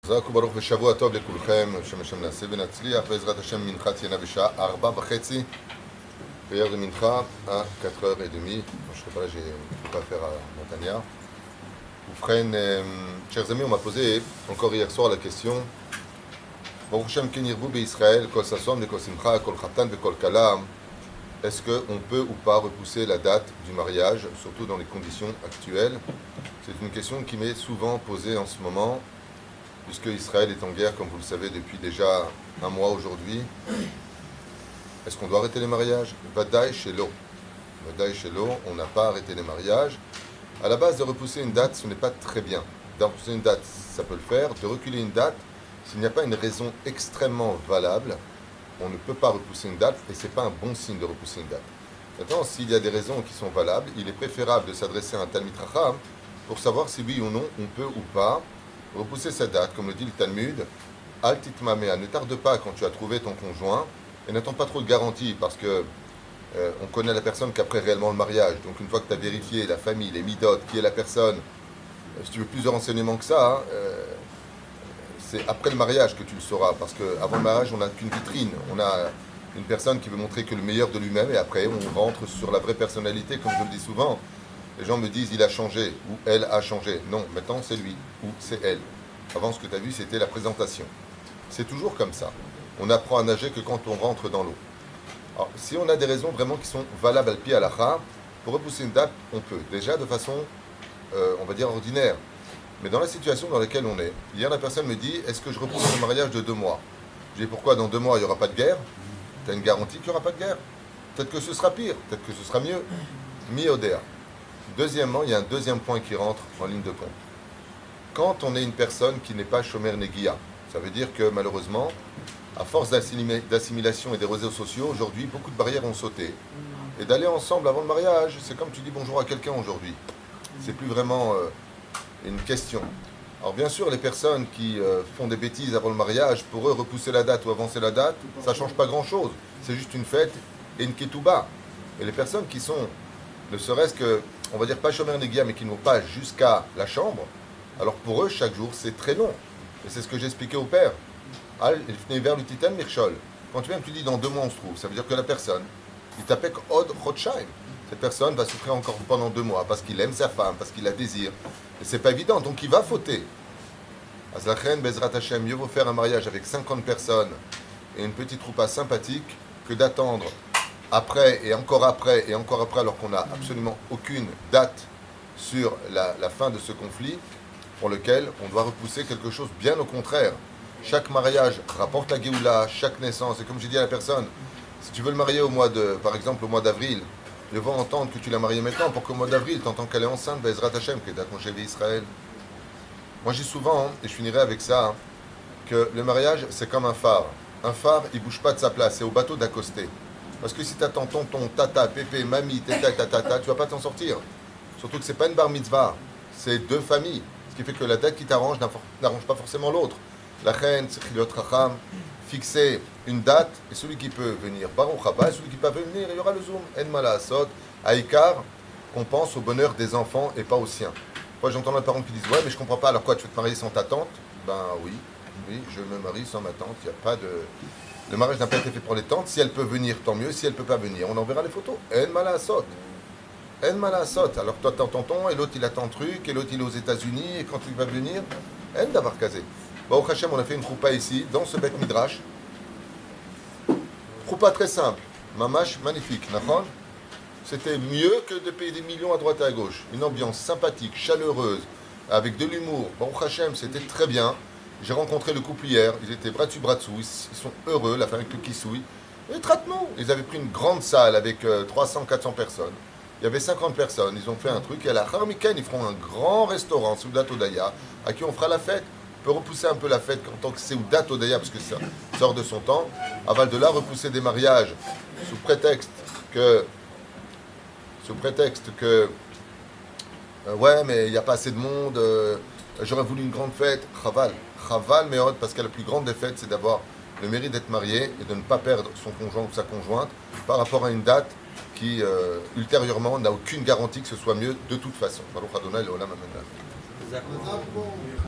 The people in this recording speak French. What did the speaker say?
חזק וברוך ושבוע טוב לכולכם, שם נעשה ונצליח, בעזרת השם מנחת תהיינה בשעה 4:30, prière de mincha à 4h30, je sais pas là, j'ai pas à faire à Netanya. Oufren, chers amis, on m'a posé encore hier soir la question, Baruch Hashem ken yirbu be'Israël, kol sasom, kol simcha, kol chatan, kol kala, est-ce qu'on peut ou pas repousser la date du mariage, surtout dans les conditions actuelles? C'est une question qui m'est souvent posée en ce moment, puisque Israël est en guerre, comme vous le savez, depuis déjà un mois aujourd'hui. Est-ce qu'on doit arrêter les mariages? Vadaï Shelo. Vadaï Shelo, on n'a pas arrêté les mariages. À la base, de repousser une date, ce n'est pas très bien. De repousser une date, ça peut le faire. De reculer une date, s'il n'y a pas une raison extrêmement valable, on ne peut pas repousser une date, et ce n'est pas un bon signe de repousser une date. Maintenant, s'il y a des raisons qui sont valables, il est préférable de s'adresser à un Talmid Chacham pour savoir si oui ou non, on peut ou pas repousser cette date, comme le dit le Talmud. Al titmamea, ne tarde pas quand tu as trouvé ton conjoint, et n'attends pas trop de garantie, parce que on connaît la personne qu'après réellement le mariage. Donc une fois que tu as vérifié la famille, les midotes, qui est la personne, si tu veux plus de renseignements que ça, c'est après le mariage que tu le sauras, parce qu'avant le mariage, on n'a qu'une vitrine, on a une personne qui veut montrer que le meilleur de lui-même, et après on rentre sur la vraie personnalité, comme je le dis souvent. Les gens me disent il a changé, ou elle a changé. Non, maintenant c'est lui, ou c'est elle. Avant, ce que tu as vu, c'était la présentation. C'est toujours comme ça. On apprend à nager que quand on rentre dans l'eau. Alors, si on a des raisons vraiment qui sont valables al pi halakha, pour repousser une date, on peut. Déjà de façon, on va dire, ordinaire. Mais dans la situation dans laquelle on est, hier la personne me dit, est-ce que je repousse le mariage de 2 mois? Je dis, pourquoi dans 2 mois, il n'y aura pas de guerre? Tu as une garantie qu'il n'y aura pas de guerre? Peut-être que ce sera pire, peut-être que ce sera mieux. Mi-odéa. Deuxièmement, il y a un deuxième point qui rentre en ligne de compte. Quand on est une personne qui n'est pas shomer negia, ça veut dire que malheureusement, à force d'assimilation et des réseaux sociaux, aujourd'hui, beaucoup de barrières ont sauté. Et d'aller ensemble avant le mariage, c'est comme tu dis bonjour à quelqu'un aujourd'hui. C'est plus vraiment une question. Alors bien sûr, les personnes qui font des bêtises avant le mariage, pour eux, repousser la date ou avancer la date, ça ne change pas grand-chose. C'est juste une fête et une ketouba. Et les personnes qui sont, ne serait-ce que, on va dire pas shomer negia, mais qui ne vont pas jusqu'à la chambre, alors pour eux, chaque jour, c'est très long. Et c'est ce que j'ai expliqué au père. Vers le titan mirchol. Quand tu viens, tu dis dans 2 mois on se trouve, ça veut dire que la personne, il t'appelle od chodshayim. Cette personne va souffrir encore pendant 2 mois parce qu'il aime sa femme, parce qu'il la désire. Et c'est pas évident, donc il va fauter. Azlachen, Bezrat Hashem, mieux vaut faire un mariage avec 50 personnes et une petite troupa sympathique que d'attendre après, alors qu'on n'a absolument aucune date sur la fin de ce conflit, pour lequel on doit repousser quelque chose bien au contraire. Chaque mariage rapporte la Géoula, chaque naissance, et comme j'ai dit à la personne, si tu veux le marier par exemple au mois d'avril, il va entendre que tu l'as marié maintenant, pour qu'au mois d'avril, tu entends qu'elle est enceinte, Bezrat Hashem, que d'être chez Israël. Moi je dis souvent, et je finirai avec ça, que le mariage c'est comme un phare. Un phare, il bouge pas de sa place, c'est au bateau d'accoster. Parce que si tu attends tonton, tata, pépé, mamie, tata, tata, tu vas pas t'en sortir. Surtout que c'est pas une bar mitzvah, c'est 2 familles. Ce qui fait que la date qui t'arrange n'arrange pas forcément l'autre. La reine, c'est Chilot Racham, fixer une date, et celui qui peut venir, Baruch Haba, celui qui peut venir, il y aura le zoom. En Malasot, Aïkar, qu'on pense au bonheur des enfants et pas au sien. Moi j'entends les parents qui disent ouais, mais je comprends pas, alors quoi, tu veux te marier sans ta tante? Ben oui, je me marie sans ma tante, il n'y a pas de. Le mariage n'a pas été fait pour les tantes. Si elle peut venir, tant mieux. Si elle ne peut pas venir, on enverra les photos. En malasot. En malasot. Alors toi, t'as tonton, et l'autre, il attend truc, et l'autre, il est aux États-Unis, et quand il va venir, en d'avoir casé. Au Hachem, on a fait une choupa ici, dans ce Beth Midrash. Choupa très simple. Mamash, magnifique. C'était mieux que de payer des millions à droite et à gauche. Une ambiance sympathique, chaleureuse, avec de l'humour. Au Hachem, c'était très bien. J'ai rencontré le couple hier, ils étaient bras dessus, ils sont heureux, la famille avec le kissouille. Et traitement, ils avaient pris une grande salle avec 300, 400 personnes. Il y avait 50 personnes, ils ont fait un truc, et à la Harmiken, ils feront un grand restaurant, Seudat Odaya, à qui on fera la fête. On peut repousser un peu la fête en tant que Seudat Odaya, parce que ça sort de son temps. Avant de là, repousser des mariages, sous prétexte que ouais, mais il n'y a pas assez de monde, j'aurais voulu une grande fête, Chaval Meod, parce que la plus grande des fêtes, c'est d'avoir le mérite d'être marié et de ne pas perdre son conjoint ou sa conjointe par rapport à une date qui, ultérieurement, n'a aucune garantie que ce soit mieux de toute façon.